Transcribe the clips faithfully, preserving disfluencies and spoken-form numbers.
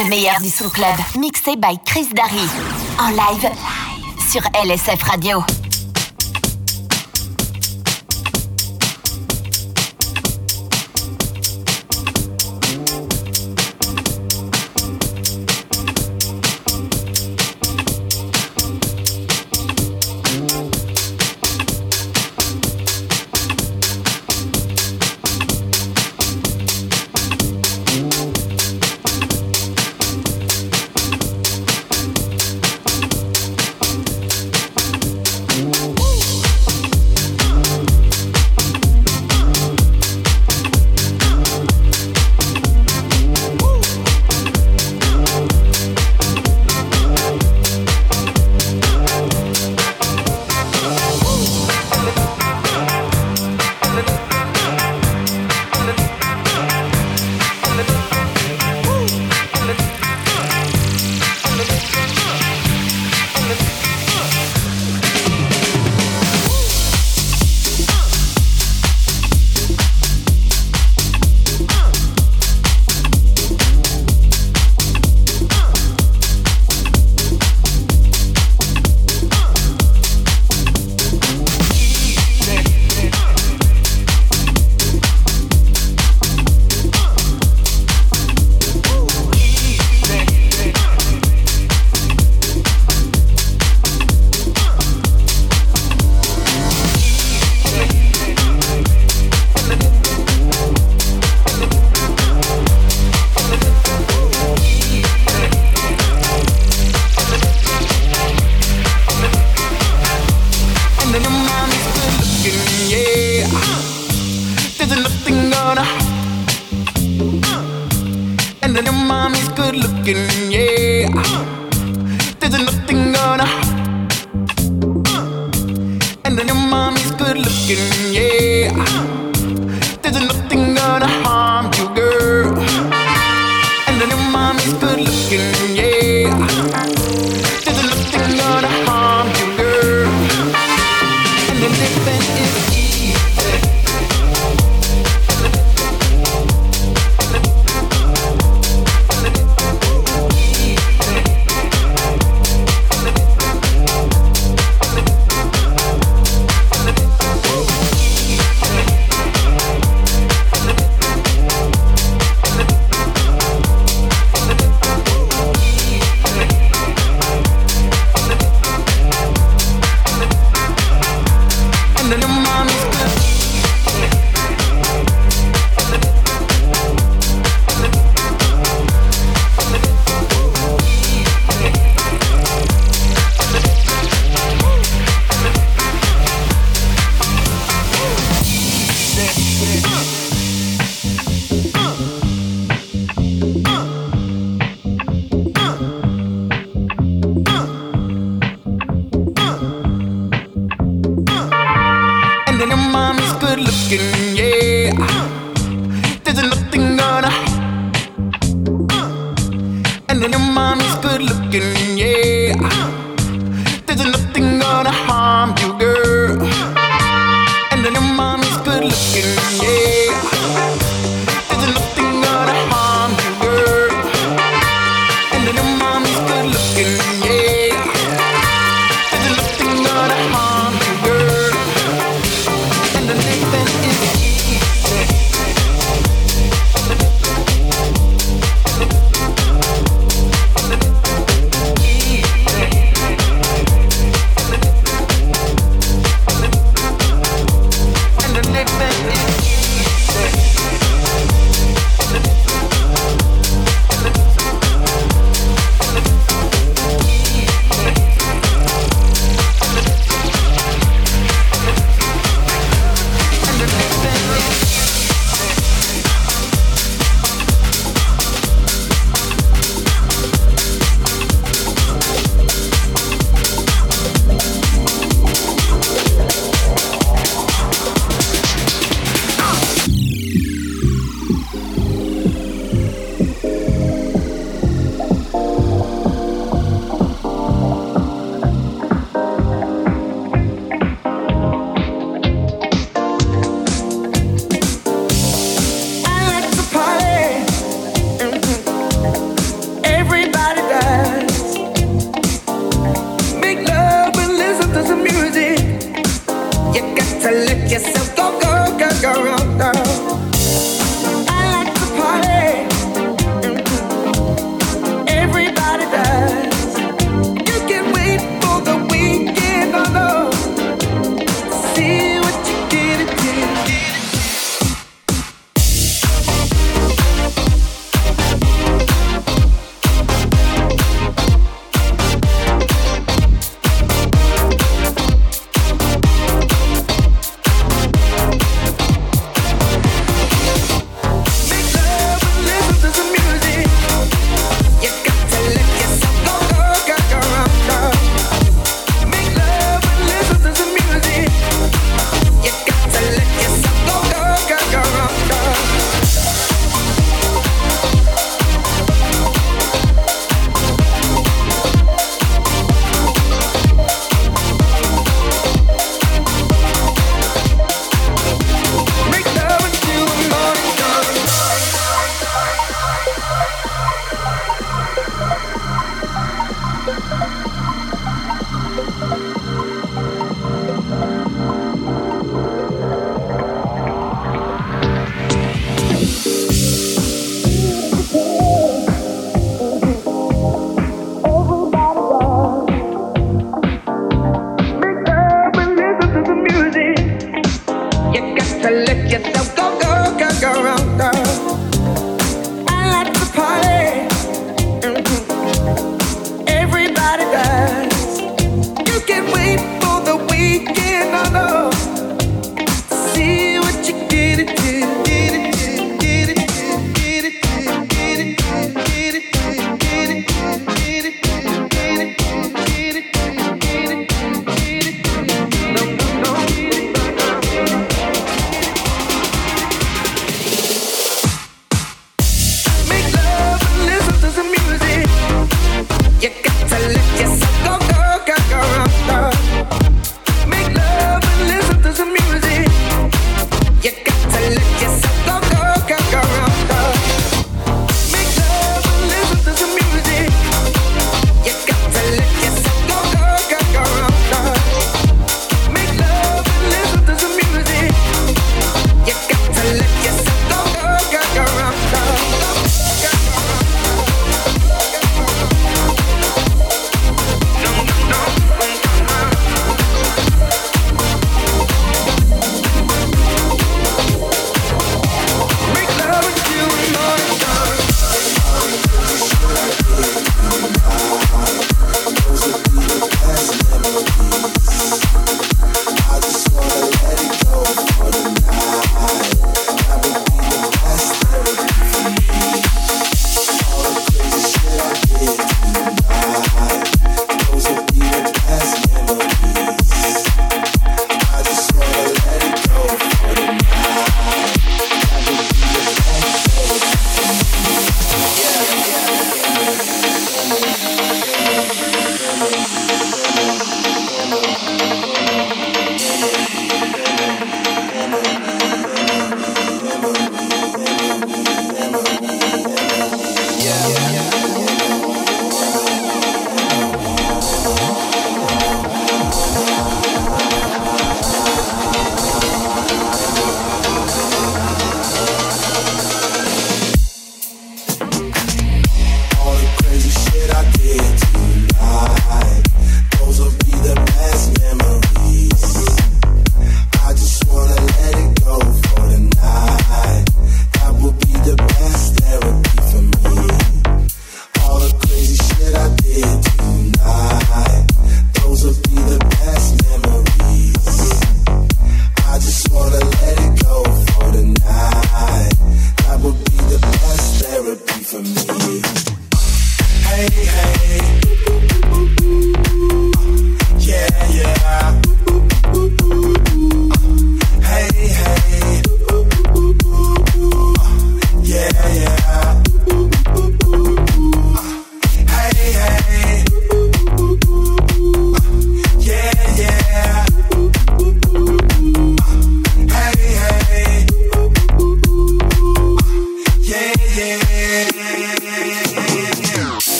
Le meilleur du son club, mixé by Chris Darry. En live, sur L S F Radio.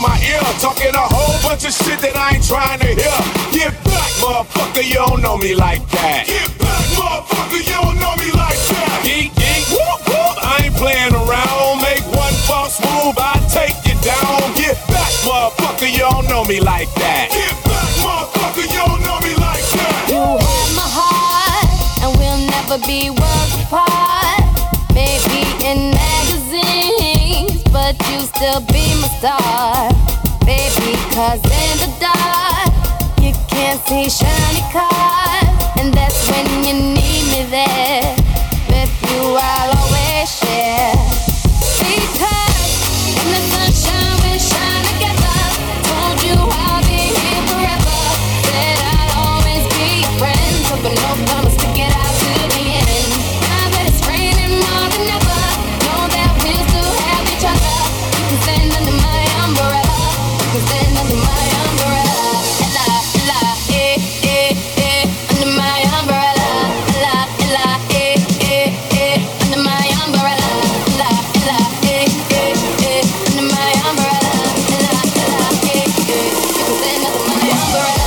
my ear, talking a whole bunch of shit that I ain't trying to hear. Get back, motherfucker, you don't know me like that. Get back, motherfucker, you don't know me like that. Geek, geek, whoop, whoop, I ain't playing around. Make one false move, I take you down. Get back, motherfucker, you don't know me like that. Get back, motherfucker, you don't know me like that. You have my heart, and we'll never be worlds apart. Maybe in magazines, but you still be my star. Baby, cause in the dark, you can't see shiny cars. And that's when you need me there. With you I'll always share. Because in the sunshine we shine together. Told you I'll be here forever. Said I'll always be your friend. So but no promise to get out to the end. Now that it's raining more than ever, know that we'll still have each other. You can stand under my umbrella. You can stand under my umbrella. Ella, ella, eh, eh, eh. Under my umbrella. Ella, ella, eh, eh, eh. Under my umbrella. Ella, ella, eh, eh, eh. Under my umbrella. Ella, ella, eh, eh. You can stand under my umbrella.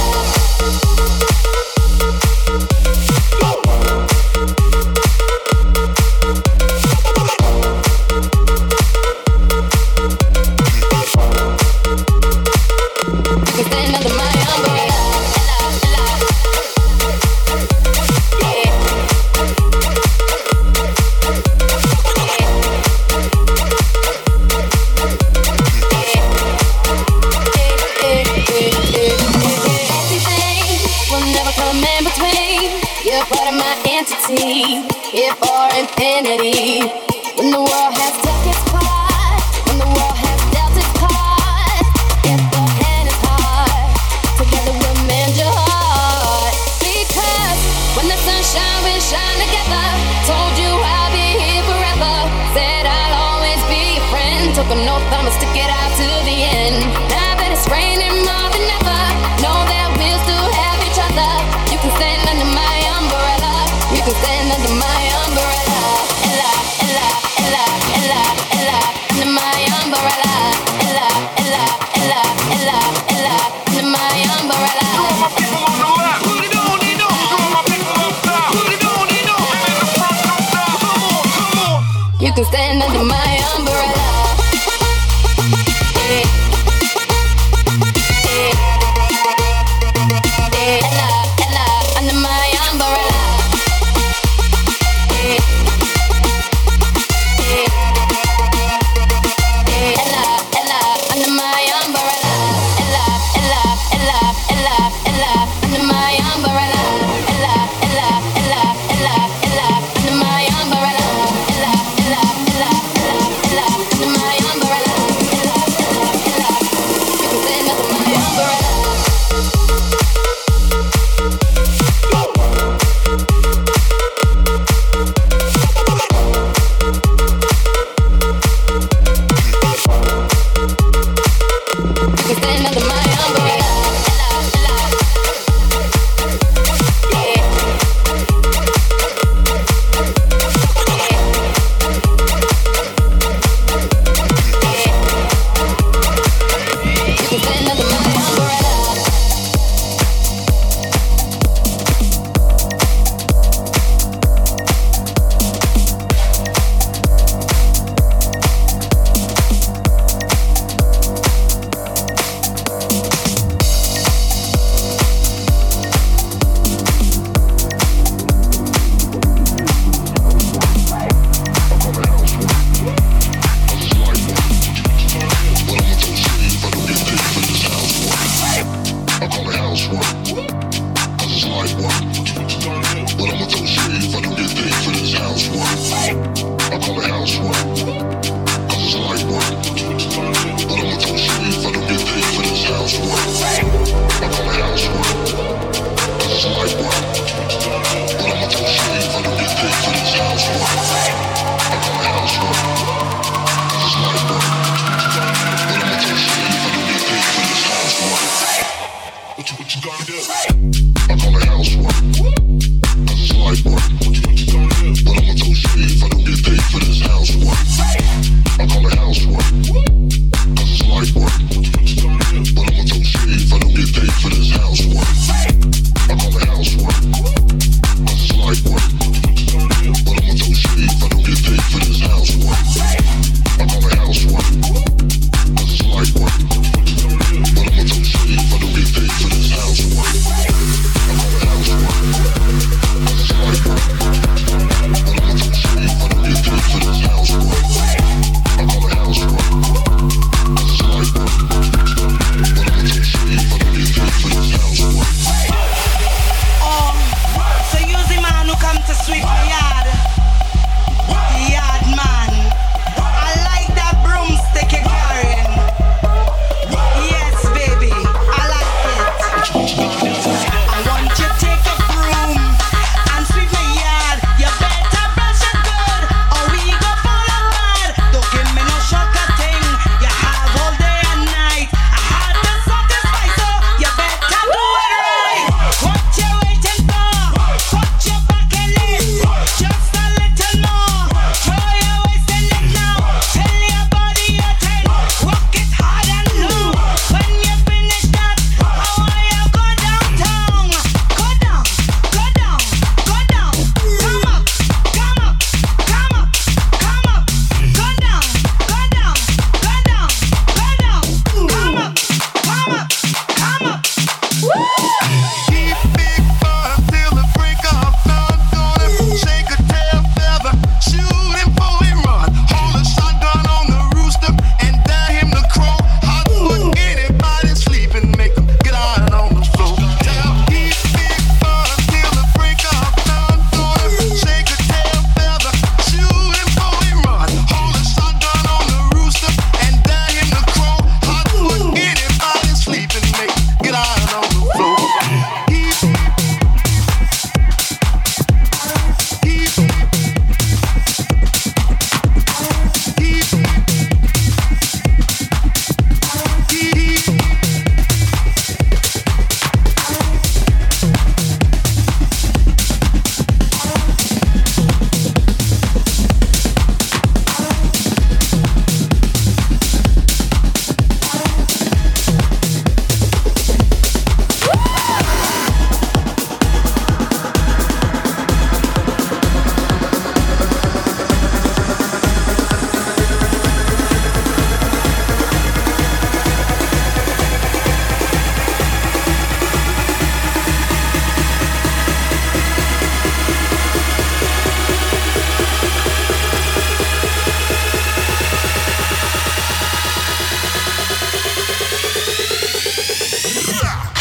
You can stand under my umbrella. Ella, ella. Yeah. Everything will never come in between. You're part of my entity, here for infinity. When the world has took its part, when the world has dealt its cards, if the hand is hard, together we'll mend your heart. Because when the sunshine will shine together, told you I'll be here forever. Said I'll always be your friend. Took an oath, I'ma stick it out to the end. Now that it's raining more than ever, know that we'll still have each other. You can stand under my umbrella. You can stand under my umbrella. Ella, ella, ella, ella, ella, under my umbrella. Ella, ella, ella, ella, ella, under my umbrella. To all my people on the left, put it on, they know. To all my people up top, put it on, they know. And in the front, no stop. Come on, come on. You can stand under my umbrella. Yeah. Yeah. Yeah. Ella, Ella, under my umbrella. Yeah. Yeah. Yeah. Ella, Ella, under my umbrella. Ella, Ella, Ella, Ella, Ella, under my umbrella. Ella, Ella, Ella, Ella, Ella, under my umbrella. Ella, Ella, Ella, Ella.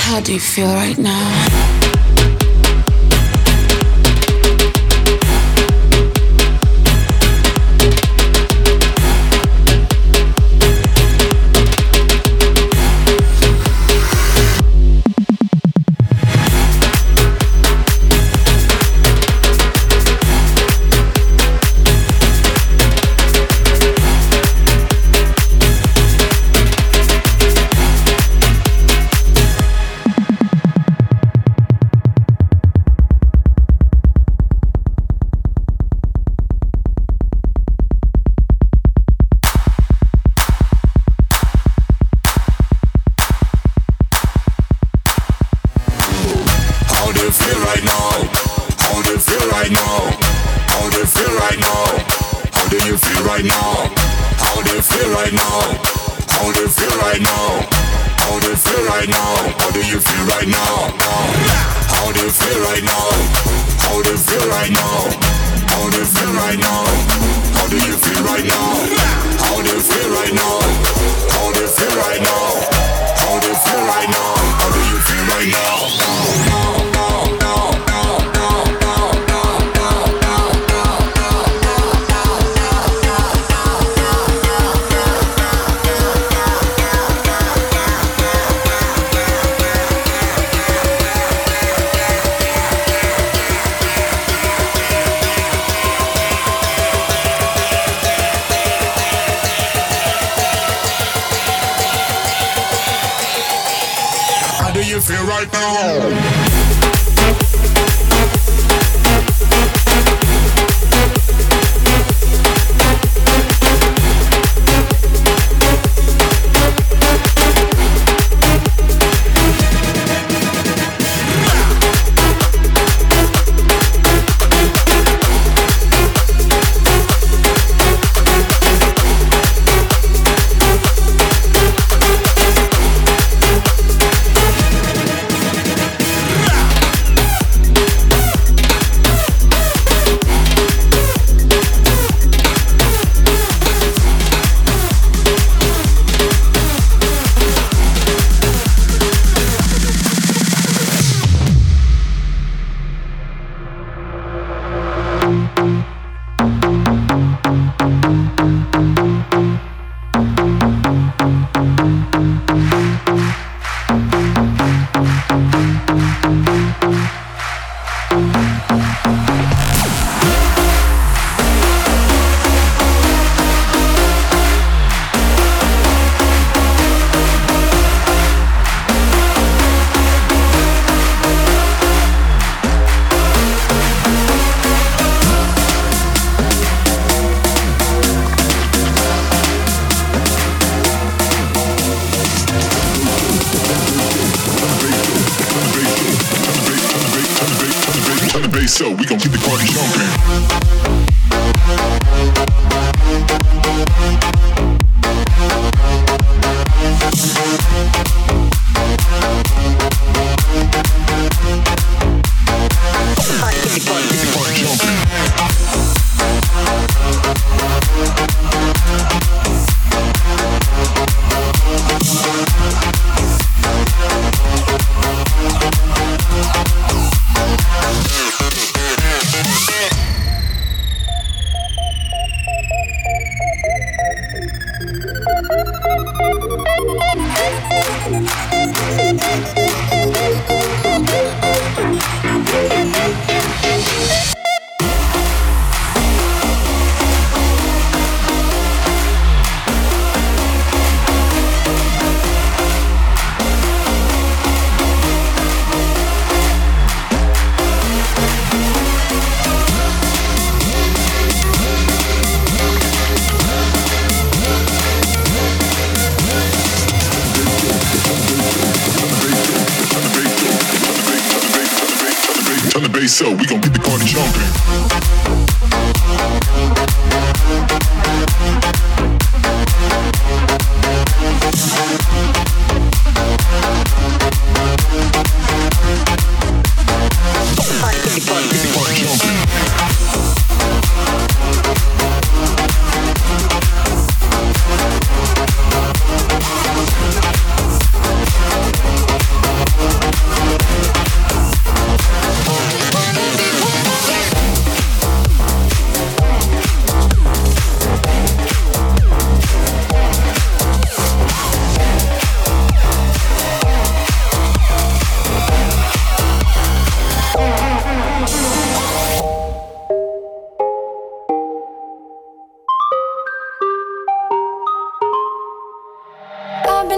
How do you feel right now? So we gon' keep the party jumping. So we gon' get the party jumping.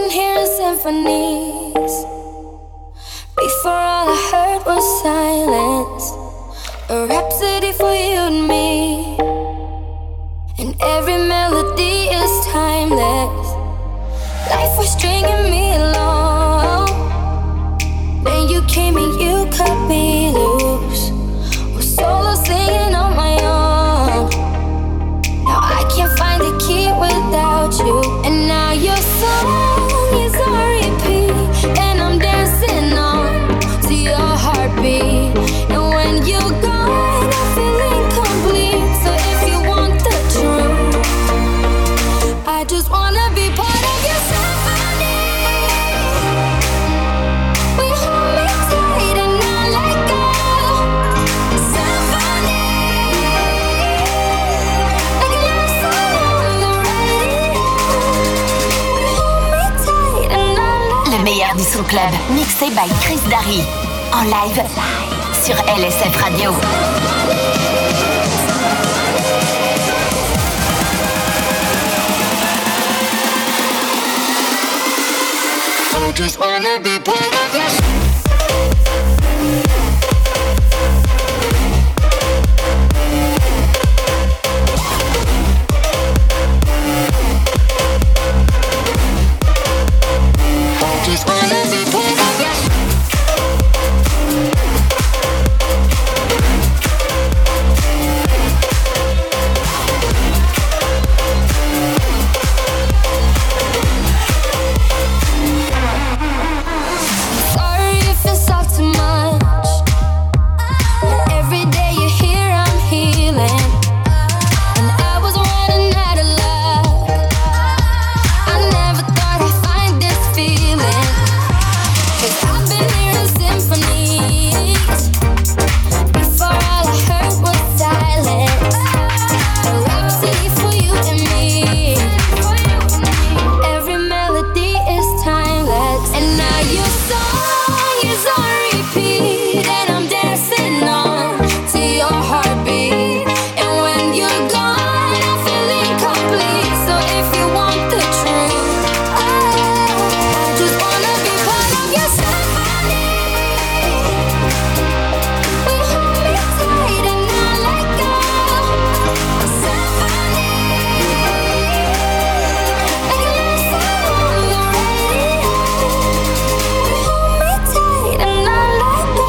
been hearing symphonies. Before all I heard was silence. A rhapsody for you and me. And every melody is timeless. Life was stringing me along. Then you came and you cut me loose. Was solo singing on my own. Now I can't find the key without you. And now your song is on repeat. And I'm dancing on to your heartbeat. And when you're gone, I feel incomplete. So if you want the truth, I just wanna be part of your symphony. We hold me tight and not let go. Symphony, like a love song on the radio. We hold me tight and not let go. Le meilleur du son club, mixé by Chris Darry. En live sur L S F Radio. I just wanna be part of your I just wanna be part of your Sorry if it's all too much. Every day you're here, I'm healing. And I was running out of luck. I never thought I'd find this feeling. 'Cause I've been hearing symphonies. Before all I heard was silence. A rhapsody for you and me. Every melody is timeless. And now your song is on repeat. And I'm dancing on to your heartbeat. And when you're gone, I feel incomplete. So if you want the truth, oh, I just wanna be part of your symphony. We hold me tight and not let go. Symphony, like a love song on the radio. We hold me tight and not let go.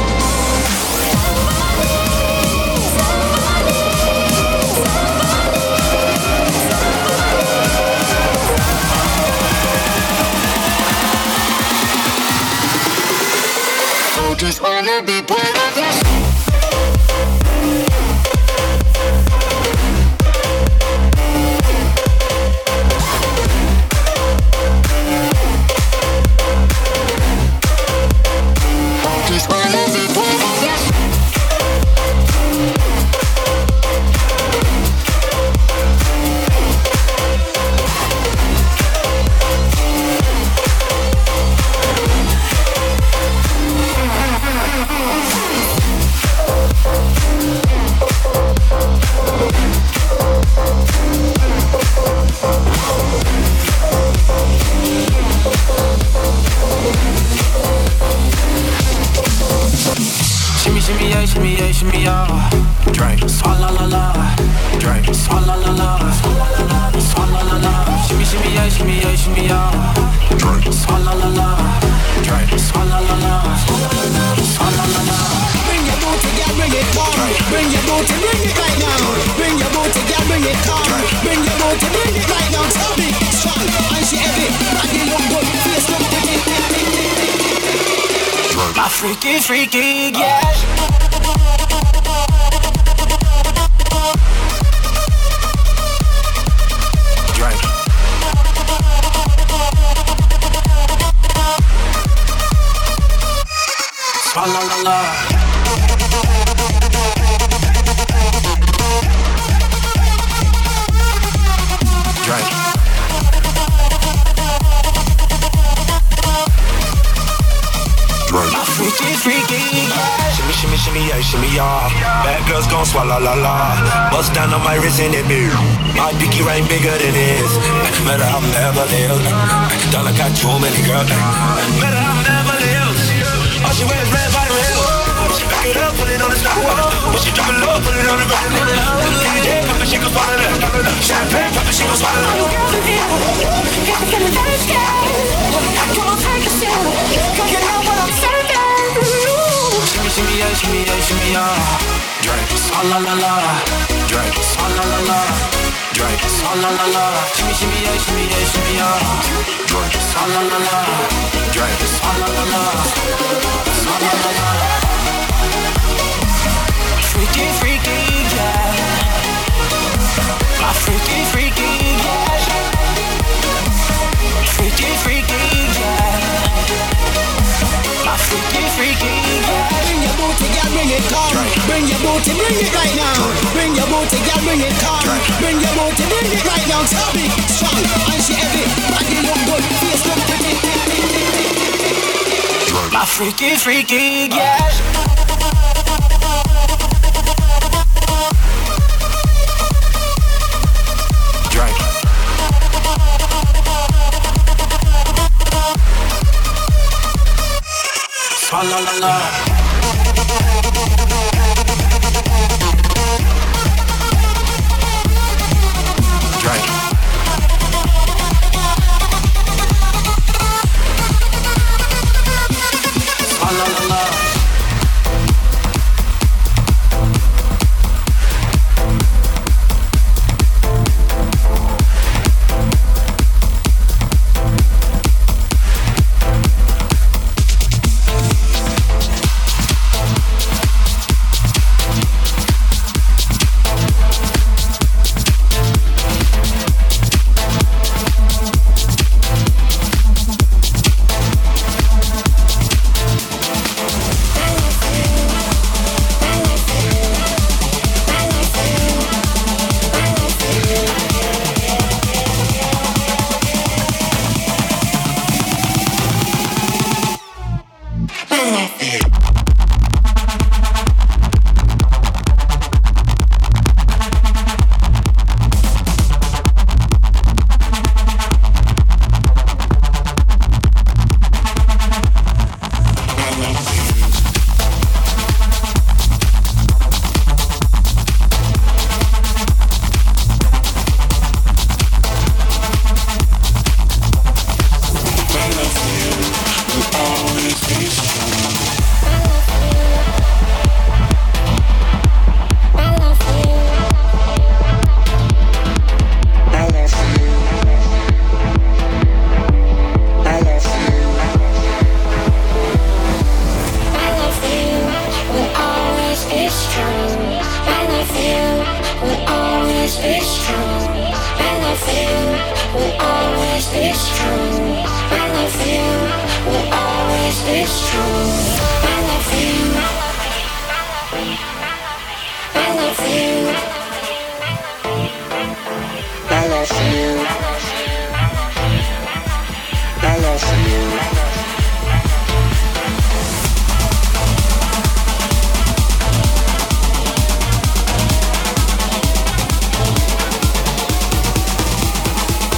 I just wanna be part of your I just wanna be part of your Shimmy, shimmy, yeah, shimmy, yeah, shimmy, yeah. Drink, swalla la la. Drink, swalla la la. Swalla la la. Shimmy, shimmy, yeah, shimmy, yeah, shimmy, yeah. Drink, swalla la la. Drink, swalla la la. Swalla la la. Bring your booty, girl, bring it on. Bring your booty, bring it right now. Bring your booty, girl, bring it on. Bring your booty, bring it right now. So big, strong, and she heavy. Body look good, face look pretty. My freaky, freaky, yeah. Drink. Swalla la la. Drink. Drink. My freaky, freaky, freaky, yeah. Shimmy, shimmy, shimmy, yeah, shimmy, yeah. Bad girls gon' swallow, la, la. Bust down on my wrist and it be. My pinky ring bigger than his. Matter how I'm never lived. Dollar got too many girls. Matter how I'm never lived. All she wears red bottom heels. She back it up, put it on the stop. When she drop it low, put it on the ground. Yeah, pop it, she gon' swallow that. Champagne, pop it, she gon' swallow that. Got me feeling very scared. Come on, take a sip. Girl, you know what I'm serving. Shimmy, shimmy, yeah, shimmy, yeah, shimmy, yeah. Drink, swalla la la. Drink, swalla la la. Drink, swalla la la. Shimmy, shimmy, yeah, shimmy, yeah, shimmy, yeah. Drink, swalla la la. Drink, swalla la la. Swalla la la. Freaky, freaky, yeah. My freaky, freaky, yeah. Freaky, freaky, yeah. My freaky, freaky, yeah. Bring your booty, girl, bring it, come. Bring your booty, bring it right now. Bring your booty, girl, bring it, come. Bring your booty, bring it right now. Tell me, strong, and she heavy. Body look good, face look pretty. My freaky, freaky, yeah. La la la. Drink. La la la la.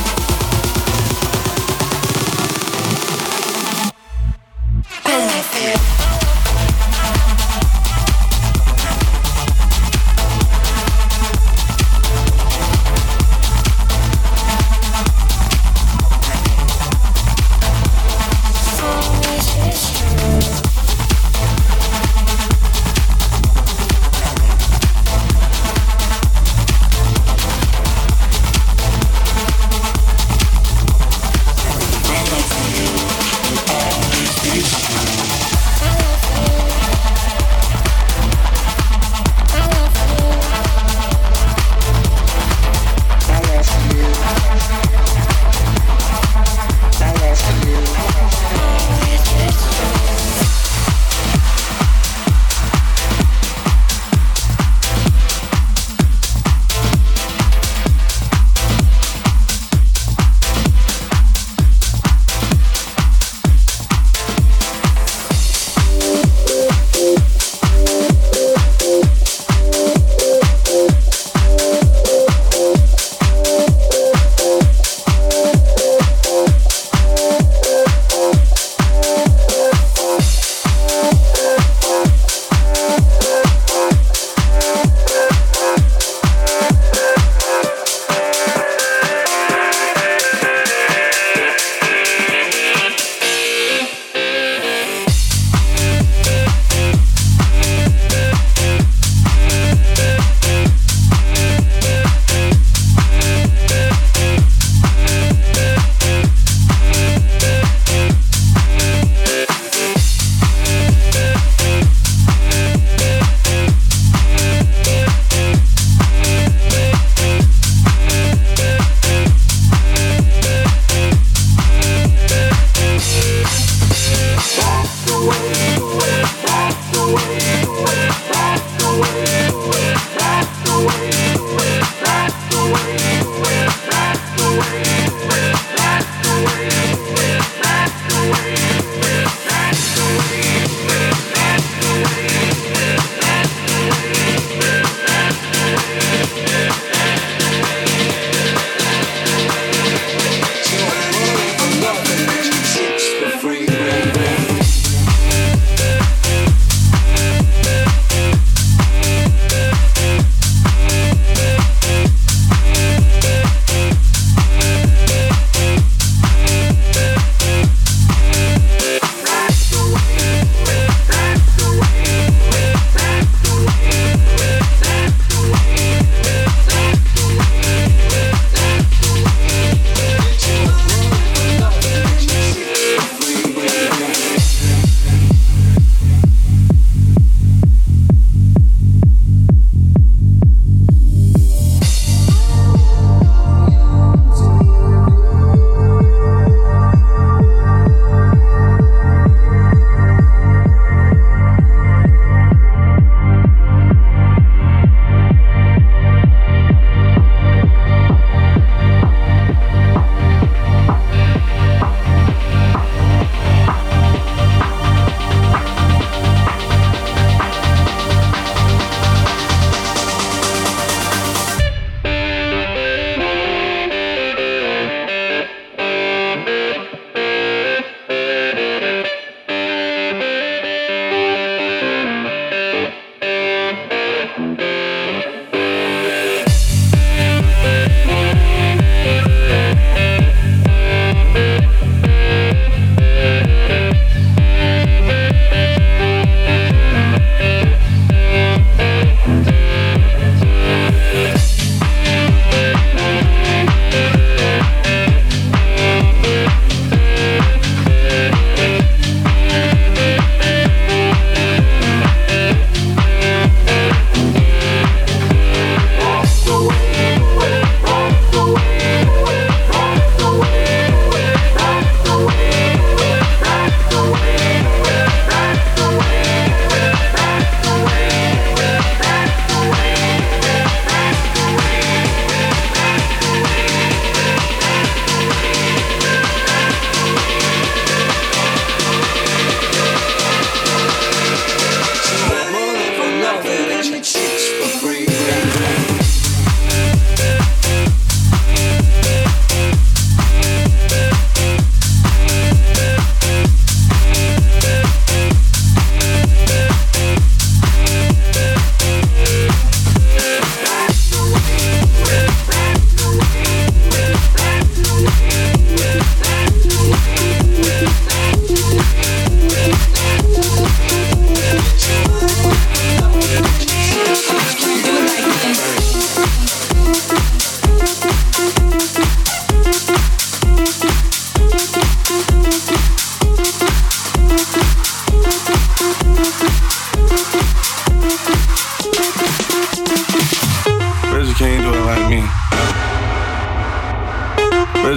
I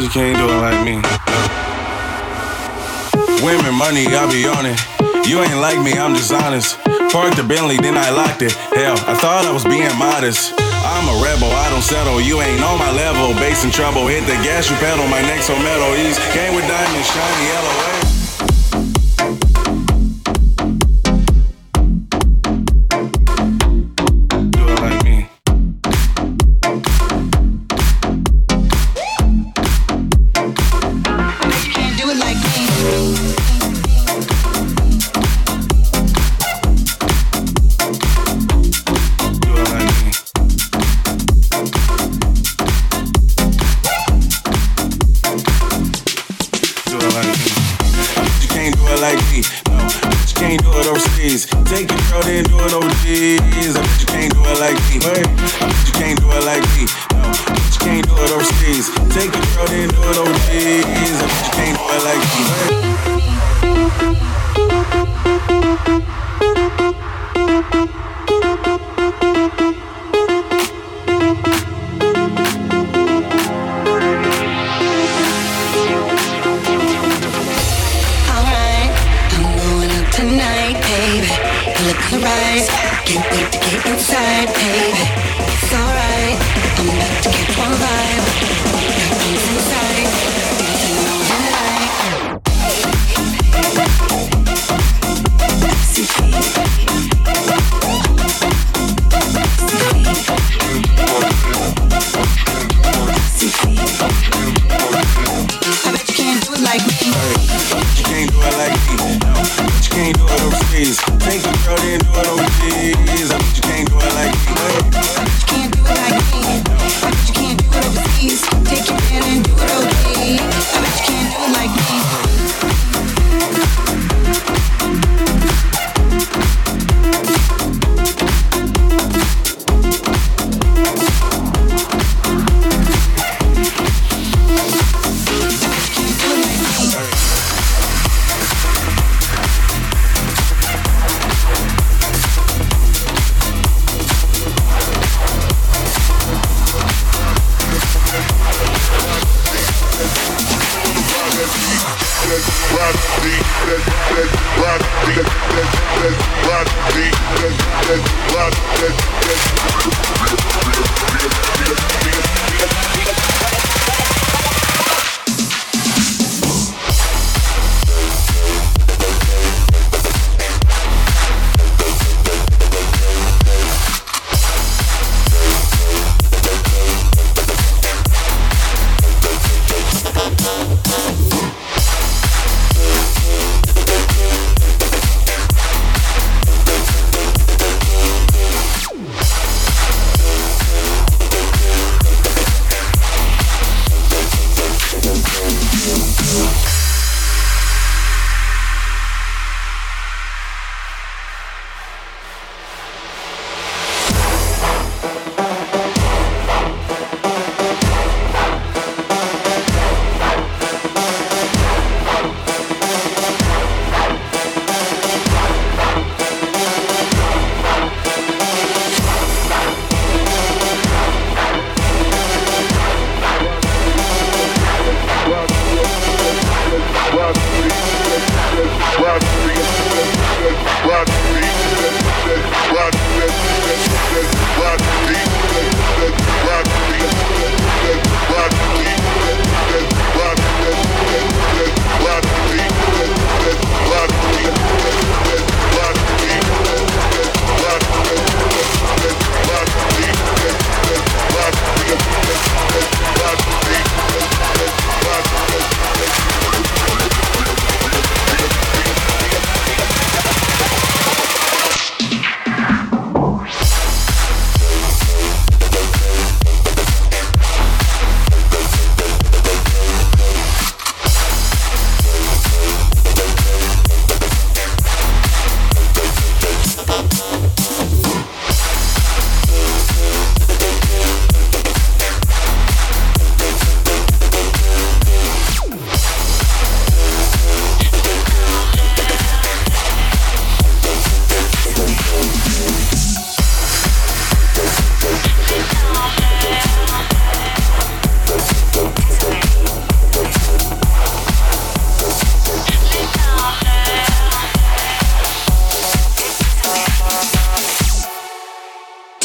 you can't do it like me. Women, money, I be on it. You ain't like me, I'm dishonest. Parked the Bentley, then I locked it. Hell, I thought I was being modest. I'm a rebel, I don't settle. You ain't on my level, bass in trouble. Hit the gas, you pedal, my neck's on metal. East game with diamonds, shiny yellow. Take your girl, then do it overseas. I bet you can't do it like me. I bet you can't do it like me. No, I bet you can't do it overseas. Take your girl, then do it overseas. I bet you can't do it like me. Alright, I'm going out tonight, baby. Look right, can't wait to get inside, baby. It's alright, I'm about to catch one vibe. Got things inside, dancing all the night. See feet, see feet. I bet you can't do it like me. You can't do it like me. No, but you can't do it overseas. Take your girl, then do it overseas. I bet you can't do it like me. I bet you can't do it like me. I bet you can't do it overseas. Take your man and do it overseas. I bet you can't do it like me.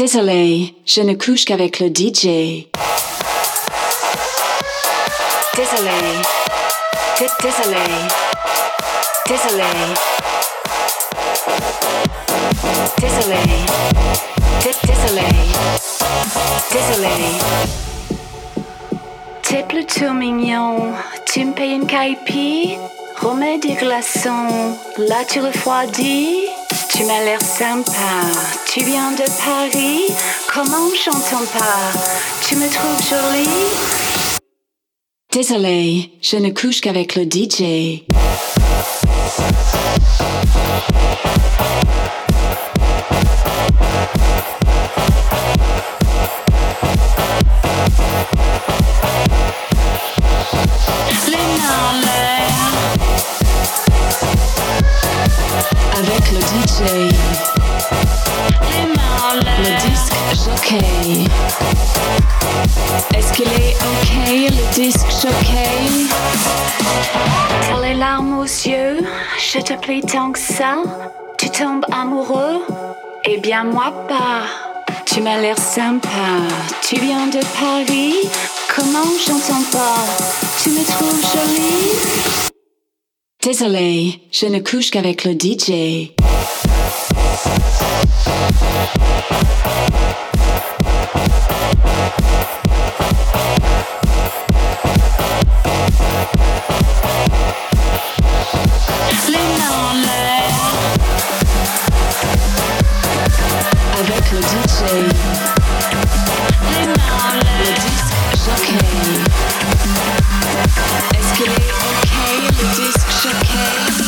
Désolé, je ne couche qu'avec le D J. Désolé, D- désolé, désolé, désolé, D- désolé, désolé. T'es plutôt mignon, tu me payes une caipi, remets des glaçons, là tu refroidis. Tu m'as l'air sympa, tu viens de Paris, comment j'entends pas, tu me trouves jolie. Désolé, je ne couche qu'avec le D J. Les mains en l'air. Avec le D J. Les mains en l'air. Le disque jockey. Est-ce qu'il est ok, le disque jockey? T'as les larmes aux yeux, je te plie tant que ça. Tu tombes amoureux? Eh bien moi pas. Tu m'as l'air sympa, tu viens de Paris. Comment j'entends pas, tu me trouves jolie? Désolé, je ne couche qu'avec le D J. Les mains en l'air. Avec le D J. Les mains en l'air. Le disque jockey. Est-ce qu'il est ok, le disque jockey?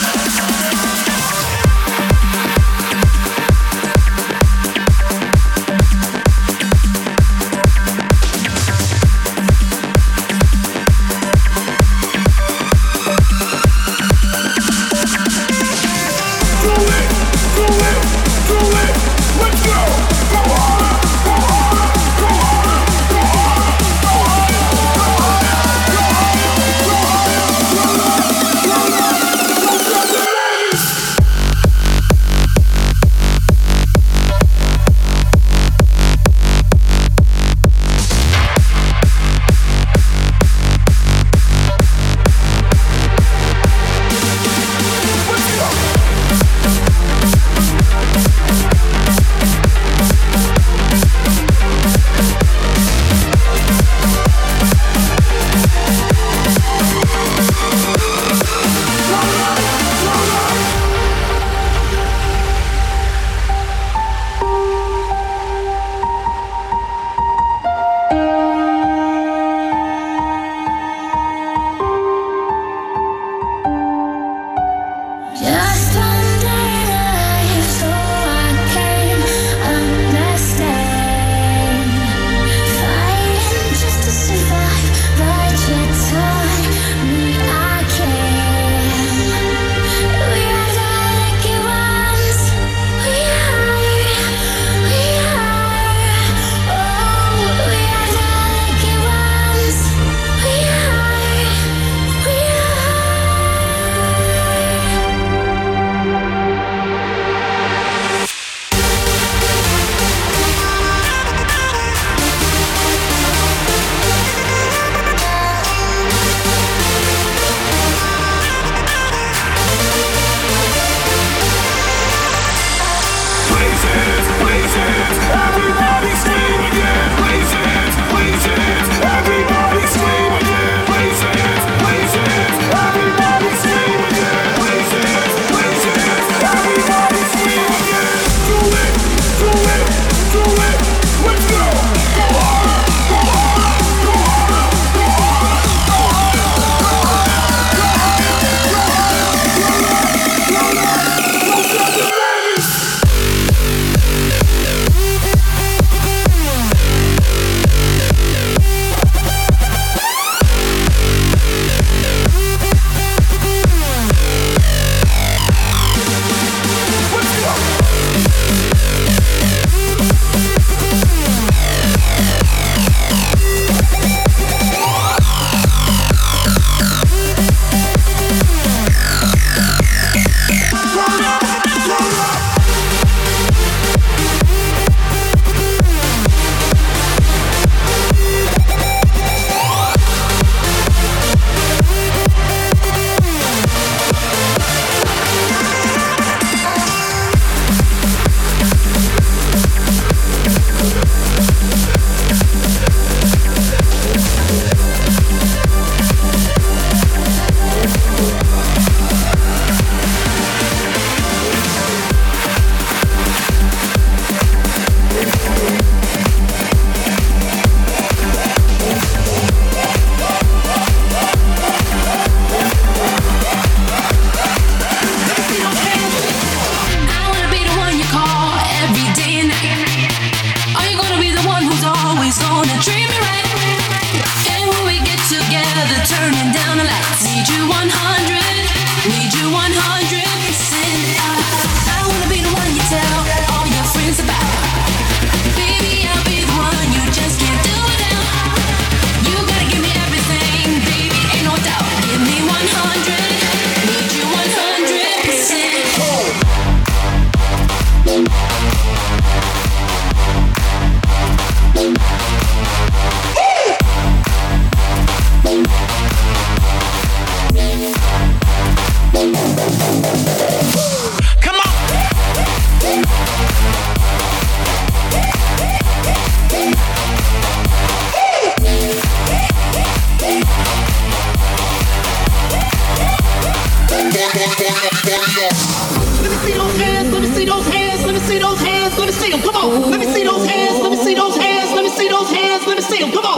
see those hands, let me see those hands, let me see those hands, let me see them, come on. Let me see those hands, let me see those hands, let me see those hands, let me see them, come on.